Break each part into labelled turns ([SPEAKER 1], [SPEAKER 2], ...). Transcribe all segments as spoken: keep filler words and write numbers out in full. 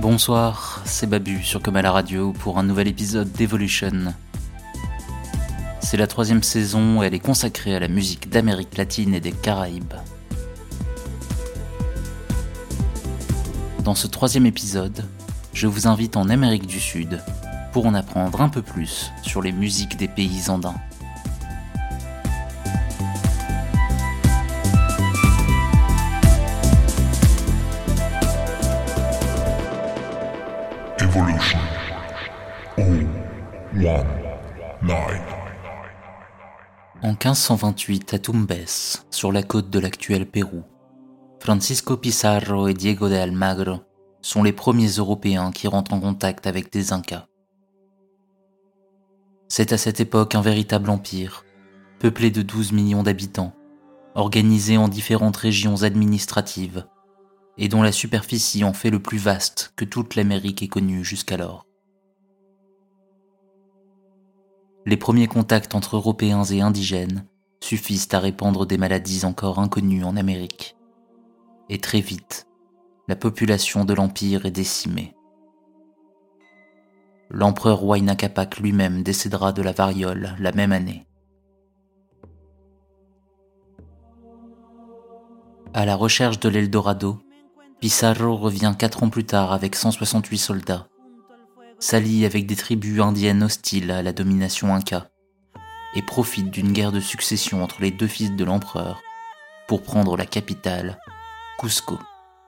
[SPEAKER 1] Bonsoir, c'est Babu sur Comme à la radio pour un nouvel épisode d'Evolution. C'est la troisième saison et elle est consacrée à la musique d'Amérique latine et des Caraïbes. Dans ce troisième épisode, je vous invite en Amérique du Sud pour en apprendre un peu plus sur les musiques des pays andins.
[SPEAKER 2] Evolution. Oh, one, nine.
[SPEAKER 1] En quinze cent vingt-huit, à Tumbes, sur la côte de l'actuel Pérou, Francisco Pizarro et Diego de Almagro sont les premiers Européens qui rentrent en contact avec des Incas. C'est à cette époque un véritable empire, peuplé de douze millions d'habitants, organisé en différentes régions administratives, et dont la superficie en fait le plus vaste que toute l'Amérique ait connue jusqu'alors. Les premiers contacts entre Européens et indigènes suffisent à répandre des maladies encore inconnues en Amérique. Et très vite, la population de l'Empire est décimée. L'empereur Huayna Capac lui-même décédera de la variole la même année. À la recherche de l'Eldorado, Pizarro revient quatre ans plus tard avec cent soixante-huit soldats, s'allie avec des tribus indiennes hostiles à la domination inca et profite d'une guerre de succession entre les deux fils de l'empereur pour prendre la capitale, Cusco.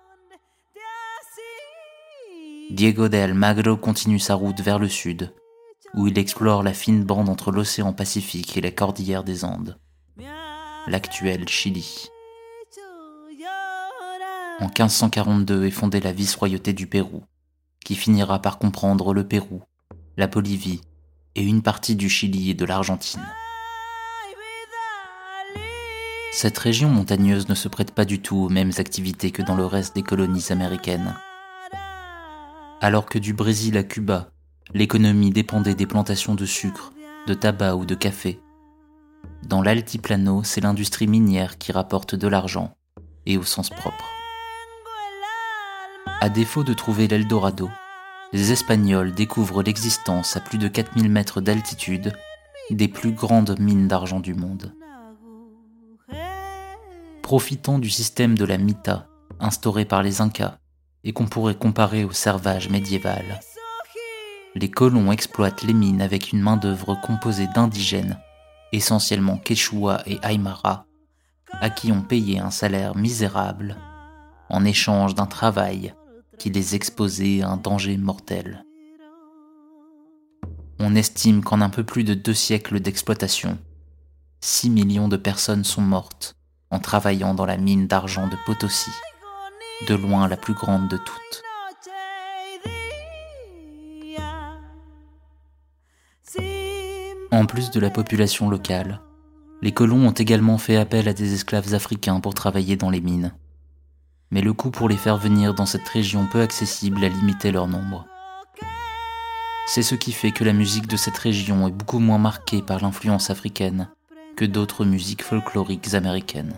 [SPEAKER 1] Diego de Almagro continue sa route vers le sud, où il explore la fine bande entre l'océan Pacifique et la cordillère des Andes, l'actuel Chili. En quinze cent quarante-deux est fondée la vice-royauté du Pérou, qui finira par comprendre le Pérou, la Bolivie et une partie du Chili et de l'Argentine. Cette région montagneuse ne se prête pas du tout aux mêmes activités que dans le reste des colonies américaines. Alors que du Brésil à Cuba, l'économie dépendait des plantations de sucre, de tabac ou de café, dans l'altiplano, c'est l'industrie minière qui rapporte de l'argent, et au sens propre. À défaut de trouver l'Eldorado, les Espagnols découvrent l'existence à plus de quatre mille mètres d'altitude des plus grandes mines d'argent du monde. Profitant du système de la mita instauré par les Incas et qu'on pourrait comparer au servage médiéval, les colons exploitent les mines avec une main-d'œuvre composée d'indigènes, essentiellement Quechua et Aymara, à qui on payait un salaire misérable en échange d'un travail qui les exposait à un danger mortel. On estime qu'en un peu plus de deux siècles d'exploitation, six millions de personnes sont mortes en travaillant dans la mine d'argent de Potosí, de loin la plus grande de toutes. En plus de la population locale, les colons ont également fait appel à des esclaves africains pour travailler dans les mines. Mais le coût pour les faire venir dans cette région peu accessible a limité leur nombre. C'est ce qui fait que la musique de cette région est beaucoup moins marquée par l'influence africaine que d'autres musiques folkloriques américaines.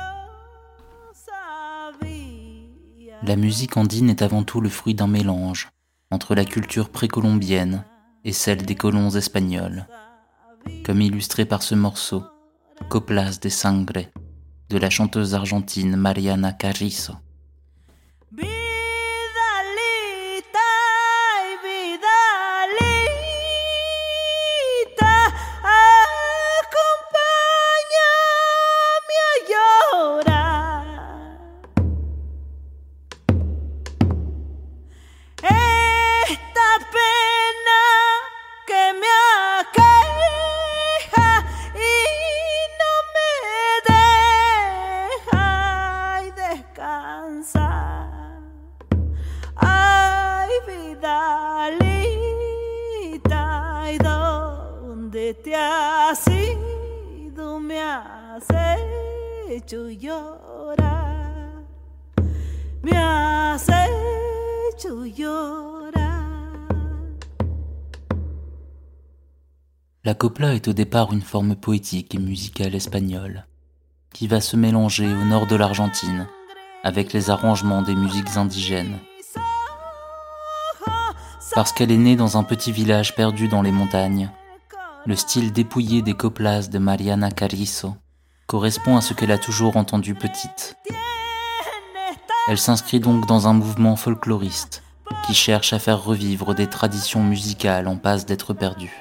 [SPEAKER 1] La musique andine est avant tout le fruit d'un mélange entre la culture précolombienne et celle des colons espagnols, comme illustré par ce morceau, Coplas de Sangre, de la chanteuse argentine Mariana Carrizo.
[SPEAKER 3] Te has ido, me has hecho llorar, me has hecho llorar.
[SPEAKER 1] La copla est au départ une forme poétique et musicale espagnole, qui va se mélanger au nord de l'Argentine avec les arrangements des musiques indigènes. Parce qu'elle est née dans un petit village perdu dans les montagnes, le style dépouillé des coplas de Mariana Carrizo correspond à ce qu'elle a toujours entendu petite. Elle s'inscrit donc dans un mouvement folkloriste qui cherche à faire revivre des traditions musicales en passe d'être perdues.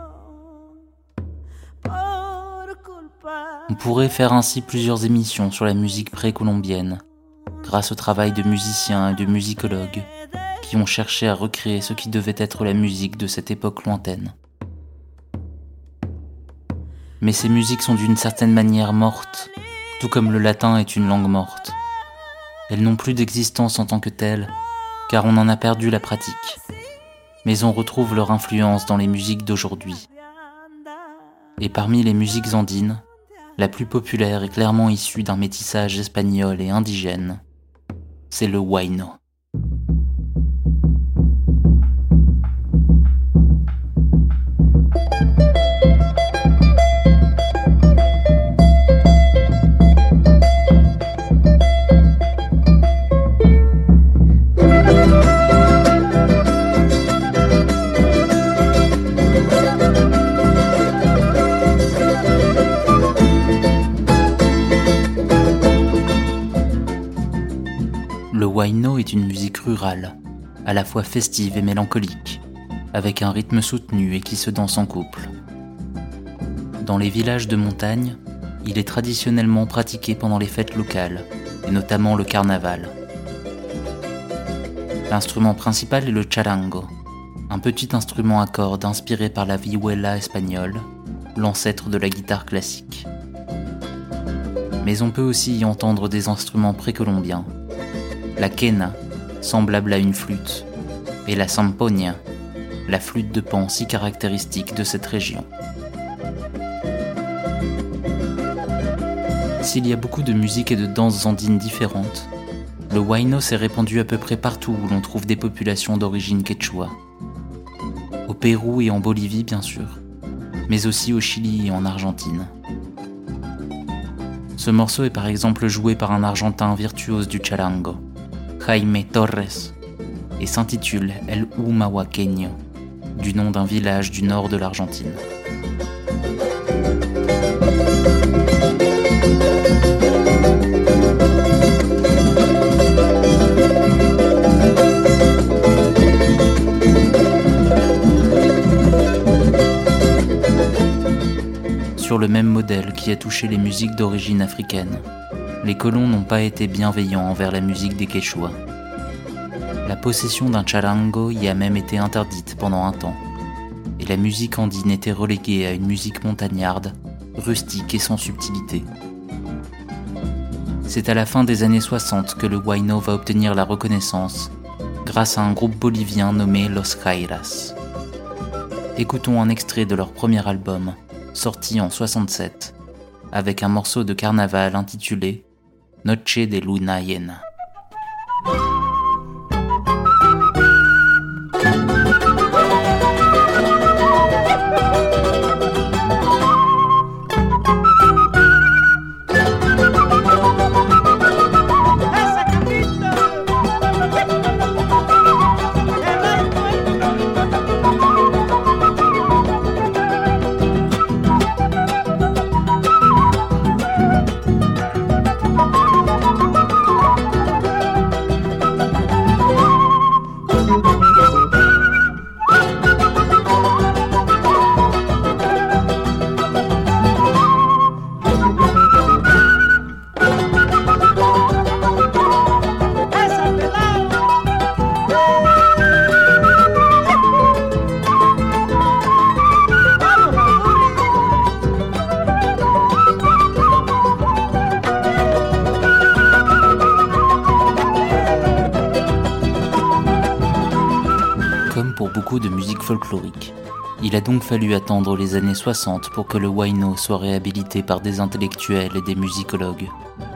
[SPEAKER 1] On pourrait faire ainsi plusieurs émissions sur la musique précolombienne, grâce au travail de musiciens et de musicologues qui ont cherché à recréer ce qui devait être la musique de cette époque lointaine. Mais ces musiques sont d'une certaine manière mortes, tout comme le latin est une langue morte. Elles n'ont plus d'existence en tant que telles, car on en a perdu la pratique. Mais on retrouve leur influence dans les musiques d'aujourd'hui. Et parmi les musiques andines, la plus populaire est clairement issue d'un métissage espagnol et indigène. C'est le huayno. Le huayno est une musique rurale, à la fois festive et mélancolique, avec un rythme soutenu et qui se danse en couple. Dans les villages de montagne, il est traditionnellement pratiqué pendant les fêtes locales, et notamment le carnaval. L'instrument principal est le charango, un petit instrument à cordes inspiré par la vihuela espagnole, l'ancêtre de la guitare classique. Mais on peut aussi y entendre des instruments précolombiens, la quena, semblable à une flûte, et la zampoña, la flûte de pan si caractéristique de cette région. S'il y a beaucoup de musiques et de danses andines différentes, le huayno s'est répandu à peu près partout où l'on trouve des populations d'origine quechua. Au Pérou et en Bolivie bien sûr, mais aussi au Chili et en Argentine. Ce morceau est par exemple joué par un Argentin virtuose du charango, Jaime Torres, et s'intitule El Humahuaqueño, du nom d'un village du nord de l'Argentine. Sur le même modèle qui a touché les musiques d'origine africaine, les colons n'ont pas été bienveillants envers la musique des Quechua. La possession d'un charango y a même été interdite pendant un temps, et la musique andine était reléguée à une musique montagnarde, rustique et sans subtilité. C'est à la fin des années soixante que le huayno va obtenir la reconnaissance, grâce à un groupe bolivien nommé Los Jairas. Écoutons un extrait de leur premier album, sorti en soixante-sept, avec un morceau de carnaval intitulé Noche de Luna Llena. Pour beaucoup de musique folklorique. Il a donc fallu attendre les années soixante pour que le huayno soit réhabilité par des intellectuels et des musicologues.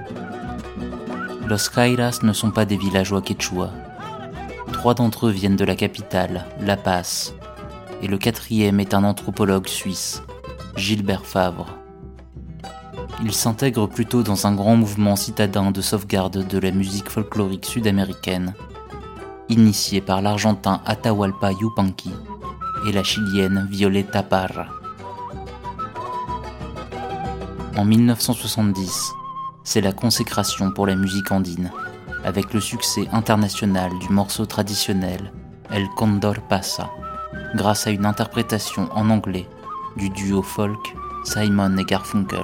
[SPEAKER 1] Los Jairas ne sont pas des villageois quechua. Trois d'entre eux viennent de la capitale, La Paz, et le quatrième est un anthropologue suisse, Gilbert Favre. Il s'intègre plutôt dans un grand mouvement citadin de sauvegarde de la musique folklorique sud-américaine, initiée par l'Argentin Atahualpa Yupanqui et la Chilienne Violeta Parra. En mille neuf cent soixante-dix, c'est la consécration pour la musique andine, avec le succès international du morceau traditionnel El Condor Pasa, grâce à une interprétation en anglais du duo folk Simon et Garfunkel.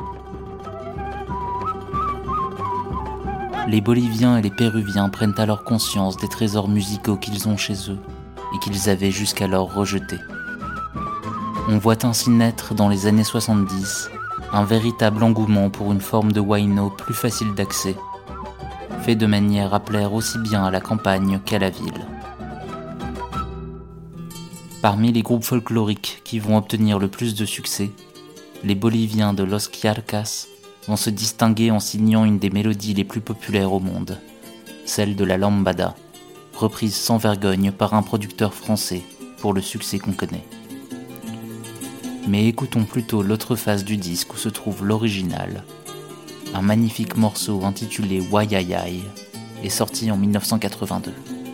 [SPEAKER 1] Les Boliviens et les Péruviens prennent alors conscience des trésors musicaux qu'ils ont chez eux et qu'ils avaient jusqu'alors rejetés. On voit ainsi naître dans les années soixante-dix un véritable engouement pour une forme de huayno plus facile d'accès, fait de manière à plaire aussi bien à la campagne qu'à la ville. Parmi les groupes folkloriques qui vont obtenir le plus de succès, les Boliviens de Los Quiarcas vont se distinguer en signant une des mélodies les plus populaires au monde, celle de la lambada, reprise sans vergogne par un producteur français pour le succès qu'on connaît. Mais écoutons plutôt l'autre face du disque où se trouve l'original, un magnifique morceau intitulé Wayayay est sorti en mille neuf cent quatre-vingt-deux.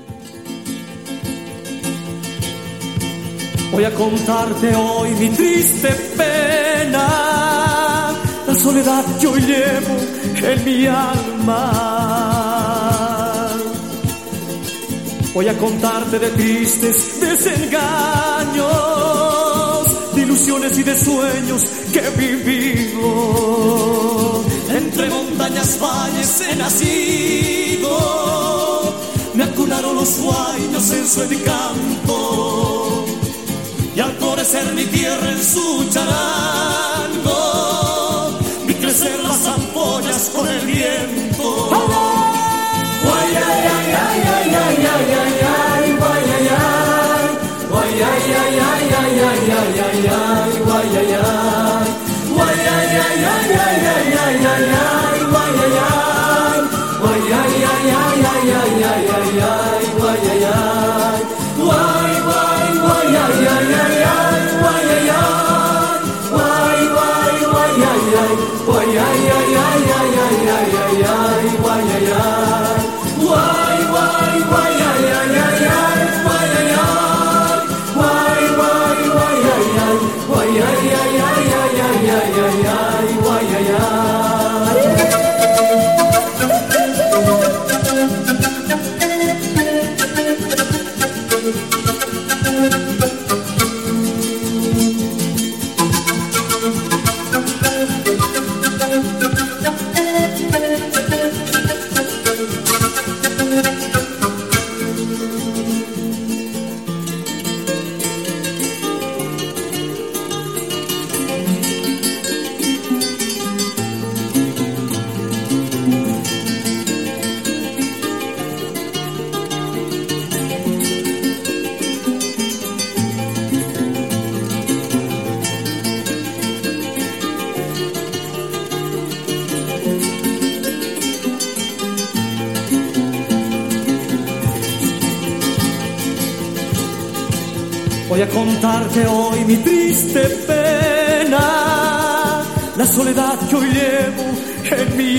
[SPEAKER 4] Voy a contarte hoy mi triste pena, la soledad que hoy llevo en mi alma. Voy a contarte de tristes desengaños, de ilusiones y de sueños que he vivido. Entre montañas, valles he nacido, me acunaron los huaynos en su encanto, y al florecer mi tierra en su charango, vi crecer las ampollas con el viento. Voy a contarte hoy mi triste pena, la soledad que hoy llevo en mi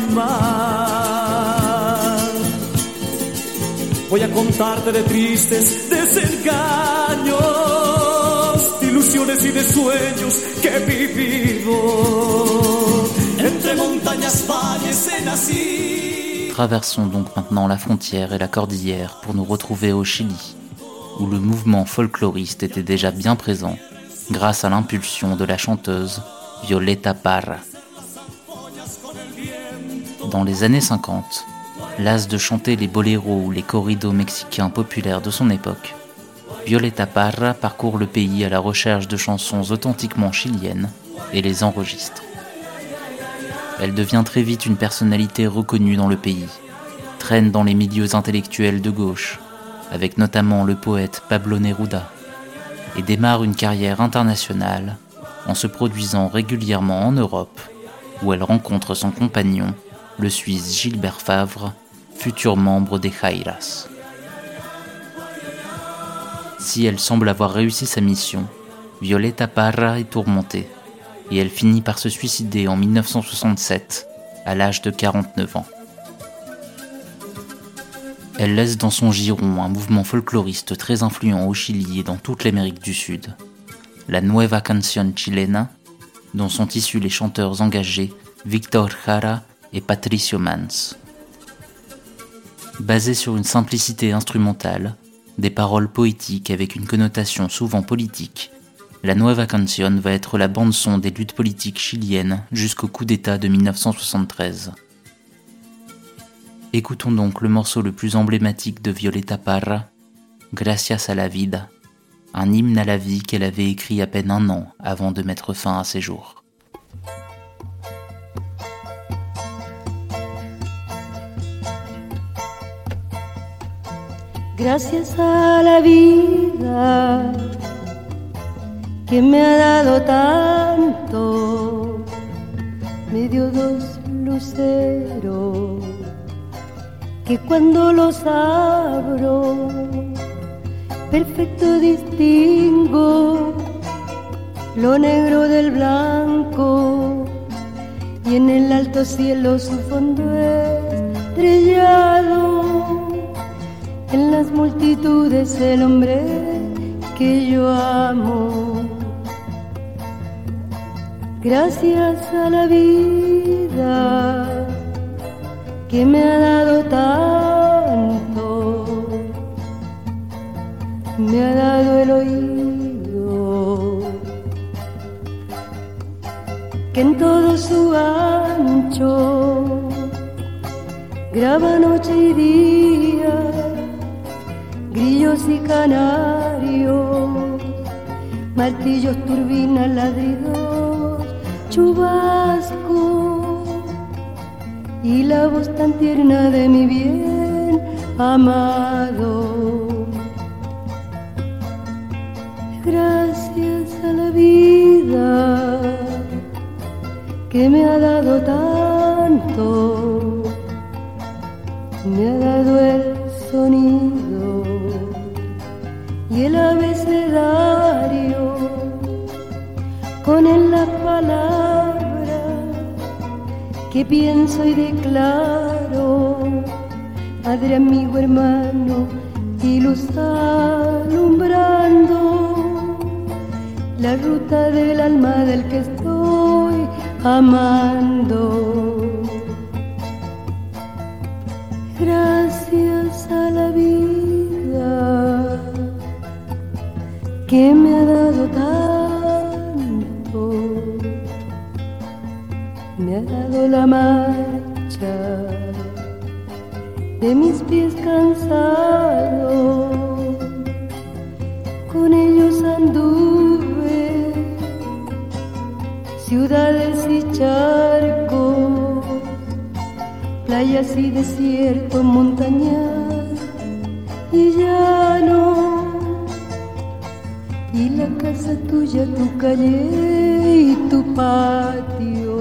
[SPEAKER 4] alma. Voy a contarte de tristes desengaños, de ilusiones y de sueños que he vivido. Entre montañas, valles he nacido.
[SPEAKER 1] Traversons donc maintenant la frontière et la cordillère pour nous retrouver au Chili, où le mouvement folkloriste était déjà bien présent grâce à l'impulsion de la chanteuse Violeta Parra. Dans les années cinquante, lasse de chanter les boléros ou les corridos mexicains populaires de son époque, Violeta Parra parcourt le pays à la recherche de chansons authentiquement chiliennes et les enregistre. Elle devient très vite une personnalité reconnue dans le pays, traîne dans les milieux intellectuels de gauche, avec notamment le poète Pablo Neruda, et démarre une carrière internationale en se produisant régulièrement en Europe, où elle rencontre son compagnon, le Suisse Gilbert Favre, futur membre des Jairas. Si elle semble avoir réussi sa mission, Violeta Parra est tourmentée, et elle finit par se suicider en mille neuf cent soixante-sept, à l'âge de quarante-neuf ans. Elle laisse dans son giron un mouvement folkloriste très influent au Chili et dans toute l'Amérique du Sud. La Nueva Canción Chilena, dont sont issus les chanteurs engagés Víctor Jara et Patricio Mans. Basée sur une simplicité instrumentale, des paroles poétiques avec une connotation souvent politique, la Nueva Canción va être la bande-son des luttes politiques chiliennes jusqu'au coup d'État de mille neuf cent soixante-treize. Écoutons donc le morceau le plus emblématique de Violeta Parra, Gracias a la vida, un hymne à la vie qu'elle avait écrit à peine un an avant de mettre fin à ses jours.
[SPEAKER 5] Gracias a la vida que me ha dado tanto, me dio dos luceros que cuando los abro perfecto distingo lo negro del blanco y en el alto cielo su fondo estrellado, en las multitudes el hombre que yo amo. Gracias a la vida que me ha dado tanto, me ha dado el oído que en todo su ancho graba noche y día, grillos y canarios, martillos, turbinas, ladridos, chubasco y la voz tan tierna de mi bien amado. Gracias a la vida que me ha dado tanto, me ha dado el sonido y el abecedario, con él las palabras que pienso y declaro, padre, amigo, hermano y luz alumbrando la ruta del alma del que estoy amando. Gracias a la vida que me ha dado tanto, me ha dado la marcha de mis pies cansados, con ellos anduve ciudades y charcos, playas y desiertos, montañas y llano, y la casa tuya, tu calle y tu patio.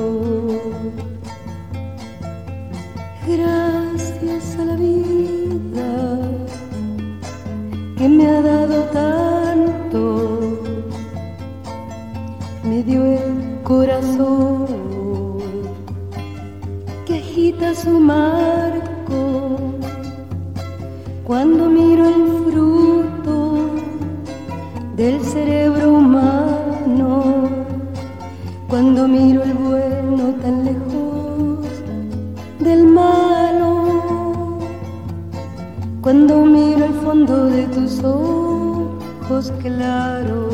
[SPEAKER 5] Gracias a la vida que me ha dado tanto, me dio el corazón que agita su marco cuando miro el fruto del cerebro humano, cuando miro el bueno tan lejos del malo, cuando miro el fondo de tus ojos claros.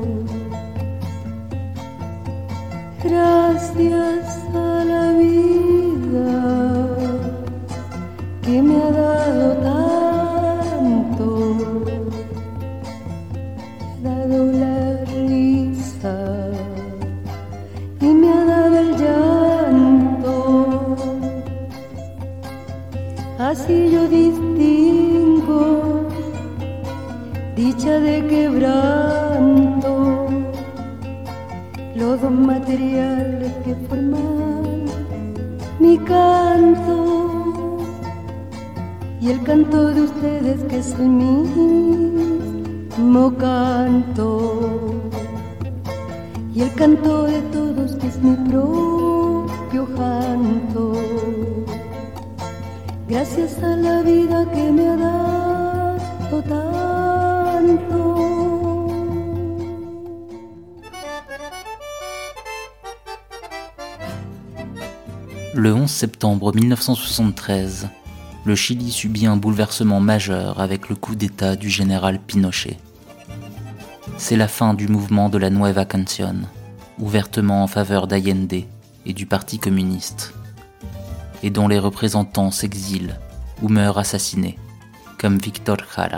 [SPEAKER 5] Gracias a la vida que me ha dado tanto, me ha dado la risa y me ha dado el llanto. Así yo distingo dicha de quebranto, los dos materiales que forman mi canto y el canto de ustedes que es el mismo canto, y el canto de todos que es mi propio canto. gracias a la vida que me ha dado tanto.
[SPEAKER 1] Le onze septembre mille neuf cent soixante-treize, le Chili subit un bouleversement majeur avec le coup d'État du général Pinochet. C'est la fin du mouvement de la Nueva Canción, ouvertement en faveur d'Allende et du Parti communiste, et dont les représentants s'exilent ou meurent assassinés, comme Victor Jara.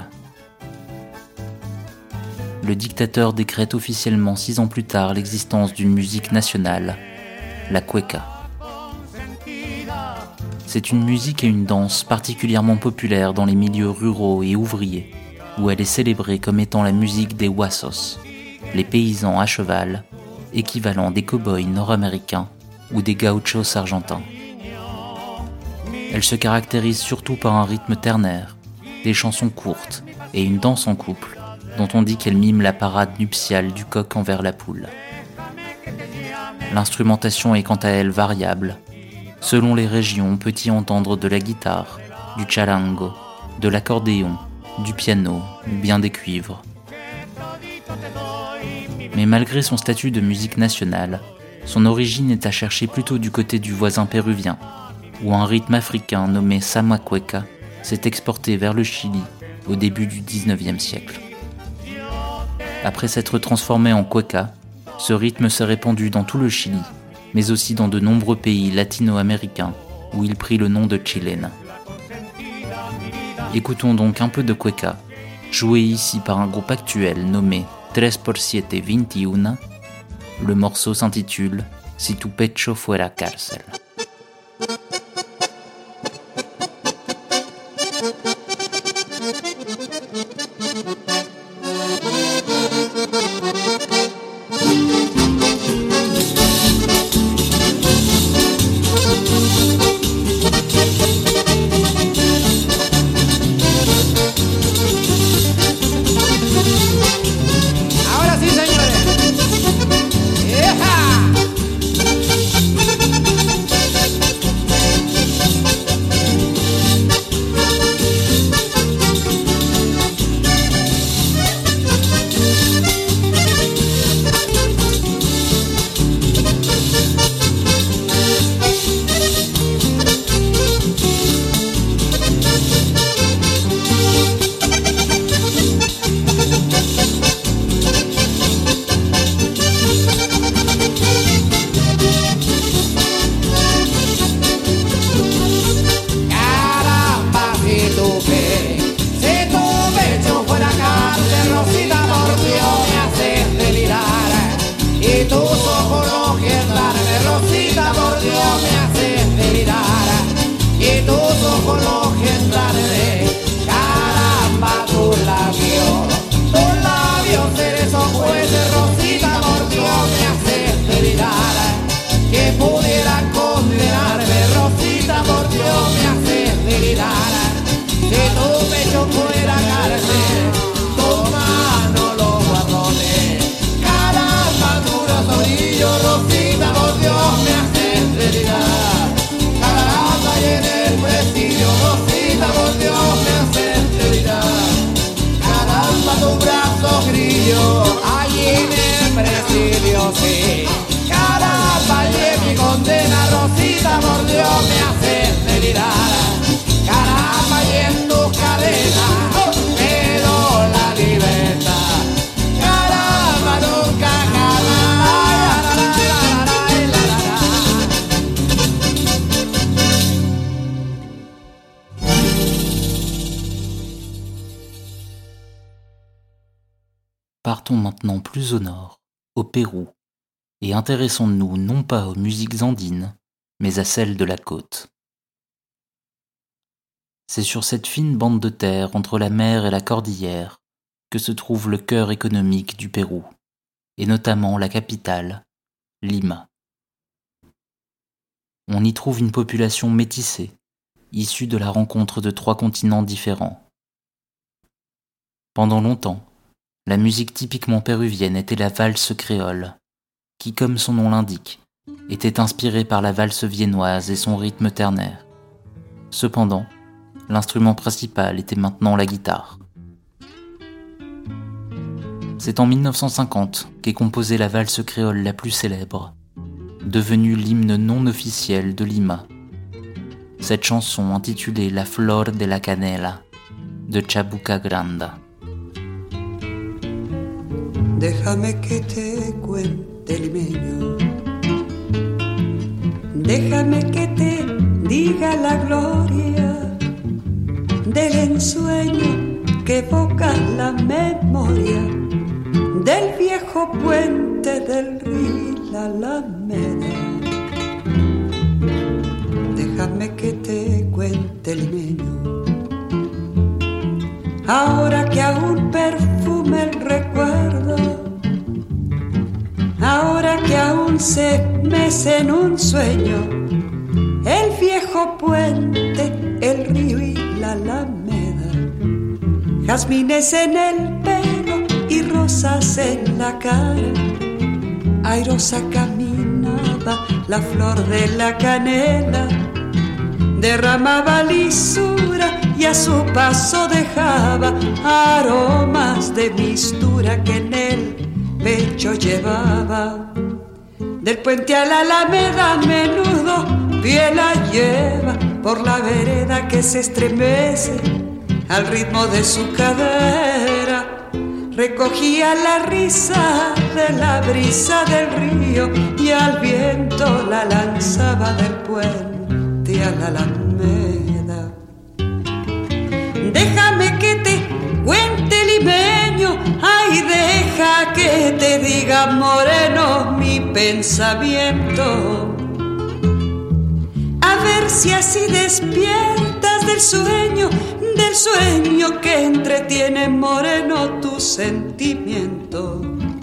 [SPEAKER 1] Le dictateur décrète officiellement six ans plus tard l'existence d'une musique nationale, la cueca. C'est une musique et une danse particulièrement populaires dans les milieux ruraux et ouvriers, où elle est célébrée comme étant la musique des huasos, les paysans à cheval, équivalent des cow-boys nord-américains ou des gauchos argentins. Elle se caractérise surtout par un rythme ternaire, des chansons courtes et une danse en couple, dont on dit qu'elle mime la parade nuptiale du coq envers la poule. L'instrumentation est quant à elle variable. Selon les régions, on peut y entendre de la guitare, du charango, de l'accordéon, du piano ou bien des cuivres. Mais malgré son statut de musique nationale, son origine est à chercher plutôt du côté du voisin péruvien, où un rythme africain nommé Sama Cueca s'est exporté vers le Chili au début du dix-neuvième siècle. Après s'être transformé en cueca, ce rythme s'est répandu dans tout le Chili, mais aussi dans de nombreux pays latino-américains, où il prit le nom de chilena. Écoutons donc un peu de cueca, joué ici par un groupe actuel nommé tres por siete veintiuno. Le morceau s'intitule « Si tu pecho fuera cárcel ». Partons maintenant plus au nord, au Pérou, et intéressons-nous non pas aux musiques andines, mais à celles de la côte. C'est sur cette fine bande de terre entre la mer et la cordillère que se trouve le cœur économique du Pérou, et notamment la capitale, Lima. On y trouve une population métissée, issue de la rencontre de trois continents différents. Pendant longtemps, la musique typiquement péruvienne était la valse créole, qui, comme son nom l'indique, était inspirée par la valse viennoise et son rythme ternaire. Cependant, L'instrument principal était maintenant la guitare. C'est en mille neuf cent cinquante qu'est composée la valse créole la plus célèbre, devenue l'hymne non officiel de Lima. Cette chanson intitulée La Flor de la Canela de Chabuca Granda.
[SPEAKER 6] Déjame que te cuente limeño, déjame que te diga la gloria del ensueño que evoca la memoria del viejo puente del río y la Alameda. Déjame que te cuente limeño, ahora que aún perfume el recuerdo, ahora que aún se mece en un sueño el viejo puente, el río y la Alameda. Jazmines en el pelo y rosas en la cara, airosa caminaba la flor de la canela, derramaba lisura y a su paso dejaba aromas de mistura que en el pecho llevaba. Del puente a la Alameda a menudo pie la lleva por la vereda que se estremece al ritmo de su cadera. Recogía la risa de la brisa del río y al viento la lanzaba del puente a la Alameda. Déjame que te cuente limeño, ay, deja que te diga moreno mi pensamiento. A ver si así despiertas del sueño, del sueño que entretiene moreno tu sentimiento.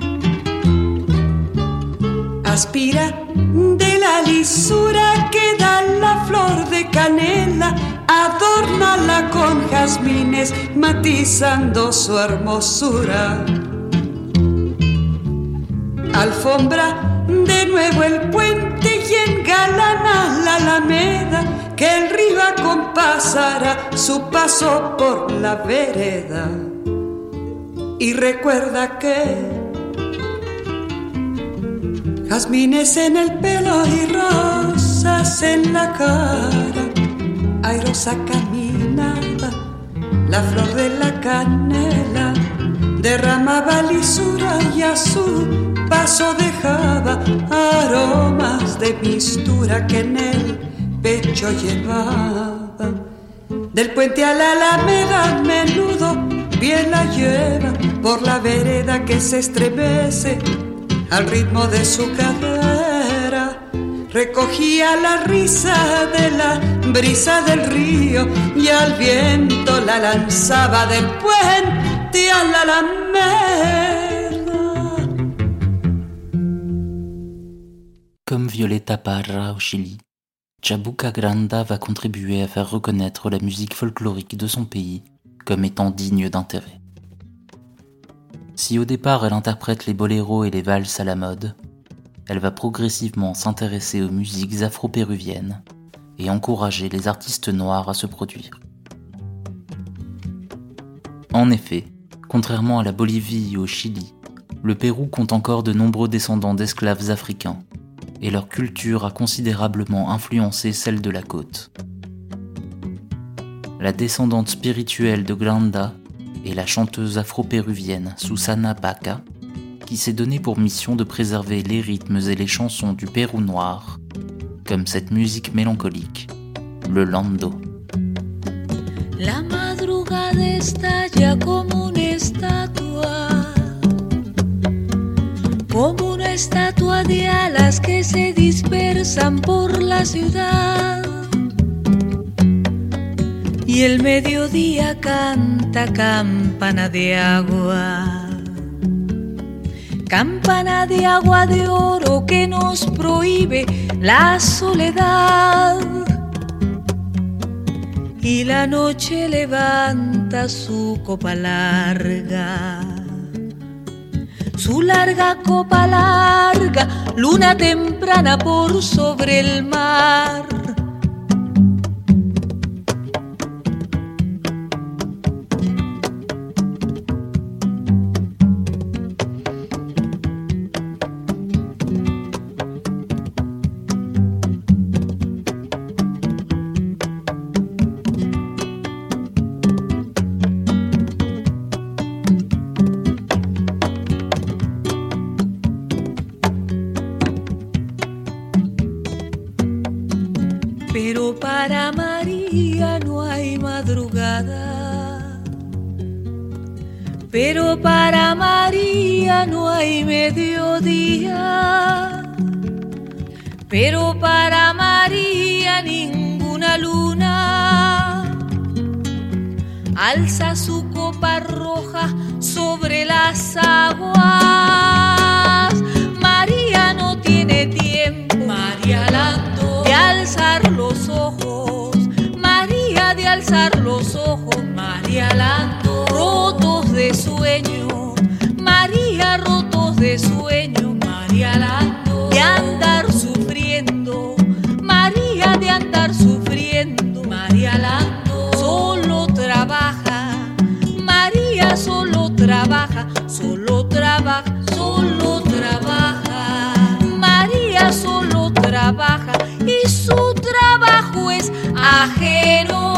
[SPEAKER 6] Aspira de la lisura que da la flor de canela, adórnala con jazmines matizando su hermosura. Alfombra de nuevo el puente y engalana la Alameda, que el río acompasará su paso por la vereda. Y recuerda que jazmines en el pelo y rosas en la cara, airosa caminaba la flor de la canela, derramaba lisura y a su paso dejaba aromas de mistura que en el pecho llevaba. Del puente a la Alameda a menudo bien la lleva por la vereda que se estremece al ritmo de su cadera. Recogía la risa de la brisa del río y al viento la lanzaba del puente a la Alameda.
[SPEAKER 1] Comme Violeta Parra au Chili, Chabuca Granda va contribuer à faire reconnaître la musique folklorique de son pays comme étant digne d'intérêt. Si au départ elle interprète les boléros et les valses à la mode, elle va progressivement s'intéresser aux musiques afro-péruviennes et encourager les artistes noirs à se produire. En effet, contrairement à la Bolivie et au Chili, le Pérou compte encore de nombreux descendants d'esclaves africains, et leur culture a considérablement influencé celle de la côte. La descendante spirituelle de Granda est la chanteuse afro-péruvienne Susana Baca, qui s'est donnée pour mission de préserver les rythmes et les chansons du Pérou noir, comme cette musique mélancolique, le lando.
[SPEAKER 7] La madrugada estalla como una estatua, como una estatua de alas que se dispersan por la ciudad. Y el mediodía canta campana de agua, campana de agua de oro que nos prohíbe la soledad. Y la noche levanta su copa larga, su larga copa larga, luna temprana por sobre el mar. madrugada. Pero para María no hay mediodía, pero para María ninguna luna alza su copa roja sobre las aguas. María no tiene tiempo, María Lando, de alzar los ojos, María de alzar los ojos, María Lando, rotos de sueño, María rotos de sueño, María Lando, de andar sufriendo, María de andar sufriendo, María Lando, solo trabaja, María solo trabaja, solo trabaja, solo trabaja, María solo trabaja y su trabajo es ajeno.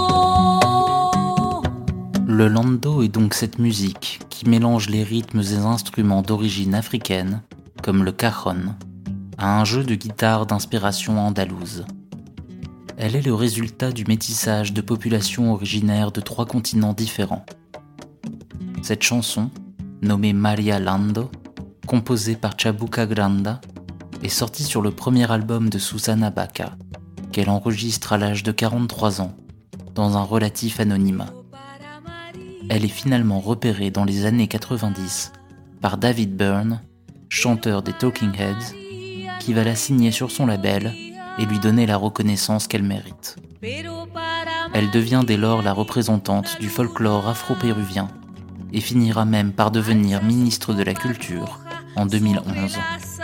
[SPEAKER 1] Le lando est donc cette musique qui mélange les rythmes et instruments d'origine africaine, comme le cajon, à un jeu de guitare d'inspiration andalouse. Elle est le résultat du métissage de populations originaires de trois continents différents. Cette chanson, nommée Maria Lando, composée par Chabuca Granda, est sortie sur le premier album de Susana Baca, qu'elle enregistre à l'âge de quarante-trois ans, dans un relatif anonymat. Elle est finalement repérée dans les années quatre-vingt-dix par David Byrne, chanteur des Talking Heads, qui va la signer sur son label et lui donner la reconnaissance qu'elle mérite. Elle devient dès lors la représentante du folklore afro-péruvien et finira même par devenir ministre de la Culture en deux mille onze.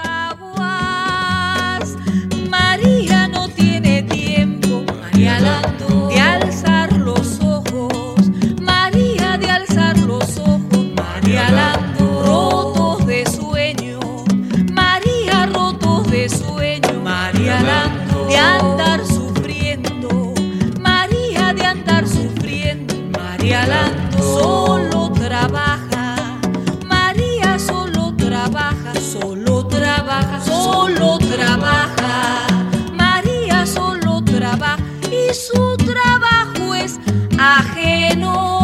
[SPEAKER 7] María no tiene tiempo, María Lando, de alzar los ojos, María de alzar los ojos, María Lando, rotos de sueño, María rotos de sueño, María Lando, de andar sufriendo, María de andar sufriendo, María Lando, solo trabaja, María solo trabaja, solo trabaja, solo trabaja, María solo trabaja y su trabajo es ajeno.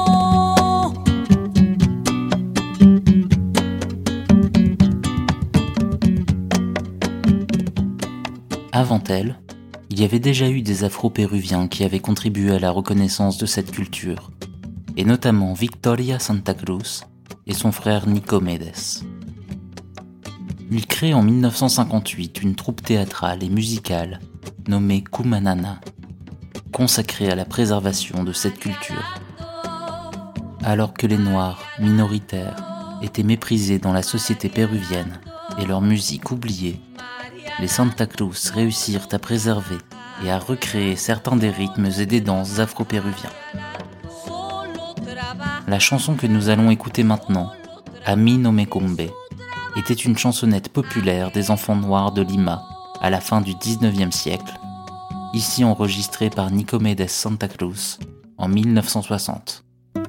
[SPEAKER 1] Avant elle, il y avait déjà eu des Afro-Péruviens qui avaient contribué à la reconnaissance de cette culture, et notamment Victoria Santa Cruz et son frère Nicomedes. Il crée en mille neuf cent cinquante-huit une troupe théâtrale et musicale nommée Cumanana, consacrée à la préservation de cette culture. Alors que les Noirs, minoritaires, étaient méprisés dans la société péruvienne et leur musique oubliée, les Santa Cruz réussirent à préserver et à recréer certains des rythmes et des danses afro-péruviens. La chanson que nous allons écouter maintenant, A mí no me cumbe, était une chansonnette populaire des enfants noirs de Lima à la fin du dix-neuvième siècle, ici enregistrée par Nicomedes Santa Cruz en mille neuf cent soixante.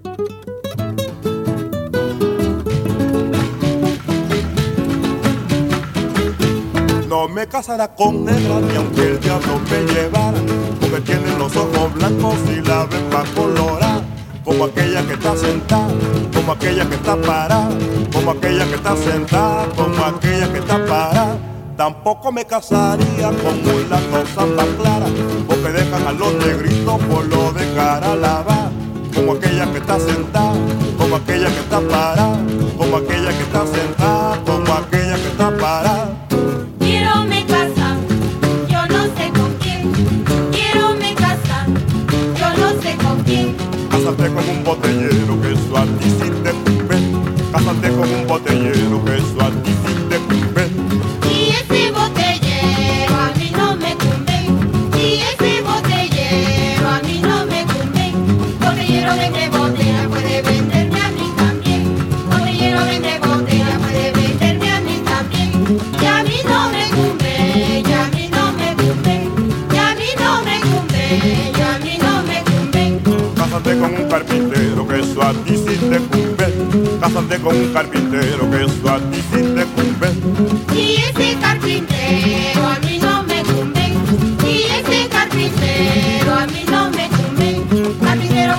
[SPEAKER 8] No me casará con negra ni aunque el diablo me llevara, porque tiene los ojos blancos y la bemba colorada, como aquella que está sentada, como aquella que está parada, como aquella que está sentada, como aquella que está parada. Tampoco me casaría con mulato zamba clara, porque dejan a los negritos por lo de cara lavada, como aquella que está sentada, como aquella que está parada, como aquella que está sentada, como aquella que está parada.
[SPEAKER 9] Quiero me casar, yo no sé con quién. Quiero me casar, yo no sé con quién.
[SPEAKER 8] Cásate con un botellero que eso a ti sí te cumbe. Cásate con un botellero que eso a ti sí te cumbe.
[SPEAKER 9] Y ese botellero a mí no me cumbe. Y ese botellero a mí no me cumbe. Botellero vende botella, puede venderme a mí también. Botellero vende botella, puede venderme a mí también. Y a mí no me cumbe, y a mí no me cumbe. Y a mí no me cumbe, y a mí no me cumbe.
[SPEAKER 8] Cásate con un carpintero que eso a ti sí te cumbe. Cásate con un carpintero que eso a ti sí te cumbe.
[SPEAKER 9] Y ese carpintero a mí no me cumbe. Y ese carpintero a mí no me cumbe. Carpintero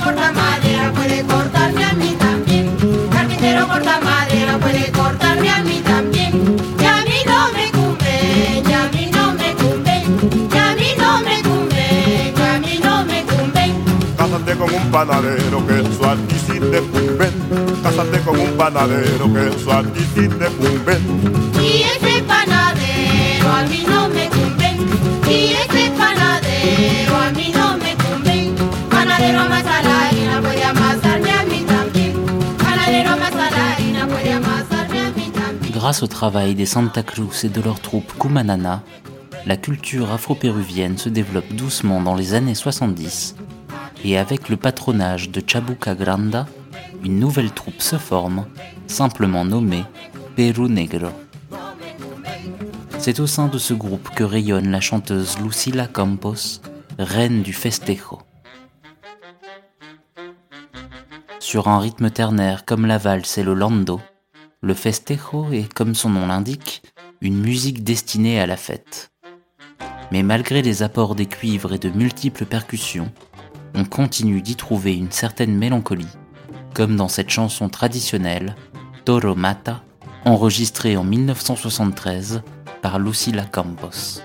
[SPEAKER 9] corta madera, puede cortarme a mí también. Carpintero corta madera, puede cortarme a mí también. Y a mí no me cumbe, y a mí no me cumbe, y a mí no me cumbe, y a mí no me cumbe.
[SPEAKER 8] Cásate con un panadero que eso a ti sí te cumbe. Cásate con un panadero que eso a ti sí te cumbe.
[SPEAKER 9] Y ese panadero a mí no me cumbe. Y ese panadero a mí no me cumbe. Panadero amasa la harina, puede amasarme a mí también. Panadero amasa la harina, puede amasarme a mí también.
[SPEAKER 1] Grâce au travail des Santa Cruz et de leur troupe Cumanana, la culture afro-péruvienne se développe doucement dans les années soixante-dix, et avec le patronage de Chabuca Granda, une nouvelle troupe se forme, simplement nommée Perú Negro. C'est au sein de ce groupe que rayonne la chanteuse Lucila Campos, reine du festejo. Sur un rythme ternaire comme la valse et le lando, le festejo est, comme son nom l'indique, une musique destinée à la fête. Mais malgré les apports des cuivres et de multiples percussions, on continue d'y trouver une certaine mélancolie, comme dans cette chanson traditionnelle, Toro Mata, enregistrée en mille neuf cent soixante-treize par Lucila Campos.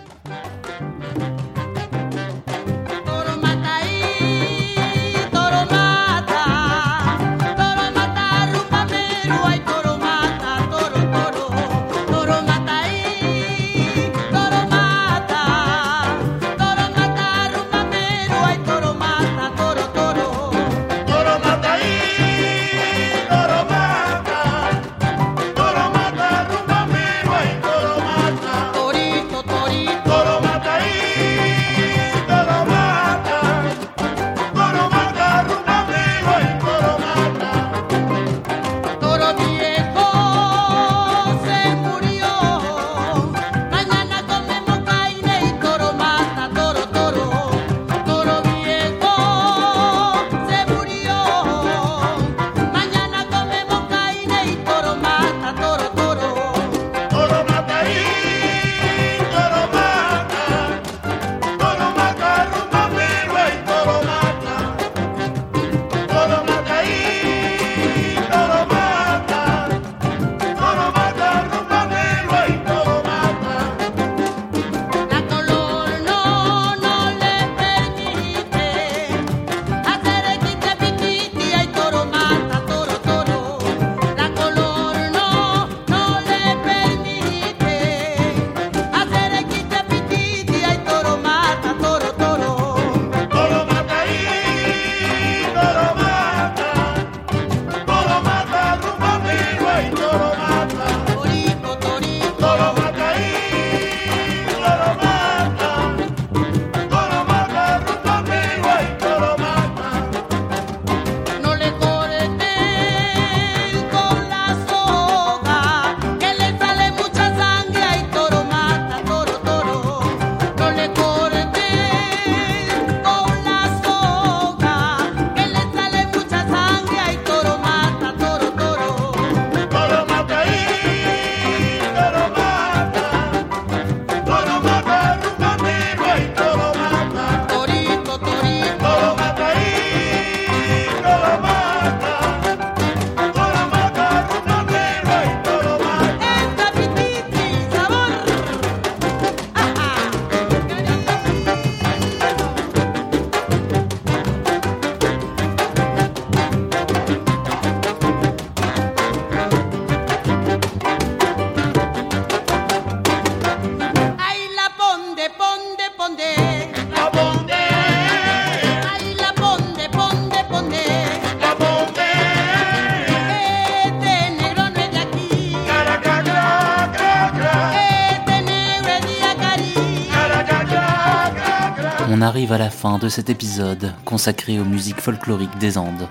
[SPEAKER 1] On arrive à la fin de cet épisode consacré aux musiques folkloriques des Andes.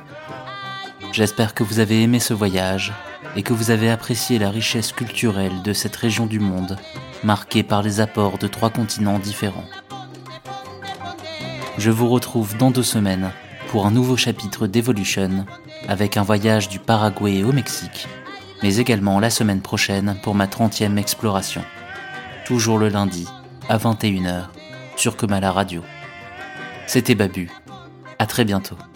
[SPEAKER 1] J'espère que vous avez aimé ce voyage et que vous avez apprécié la richesse culturelle de cette région du monde, marquée par les apports de trois continents différents. Je vous retrouve dans deux semaines pour un nouveau chapitre d'Evolution, avec un voyage du Paraguay au Mexique, mais également la semaine prochaine pour ma trentième exploration. Toujours le lundi, à vingt et une heures, sur Comala Radio. C'était Babu. À très bientôt.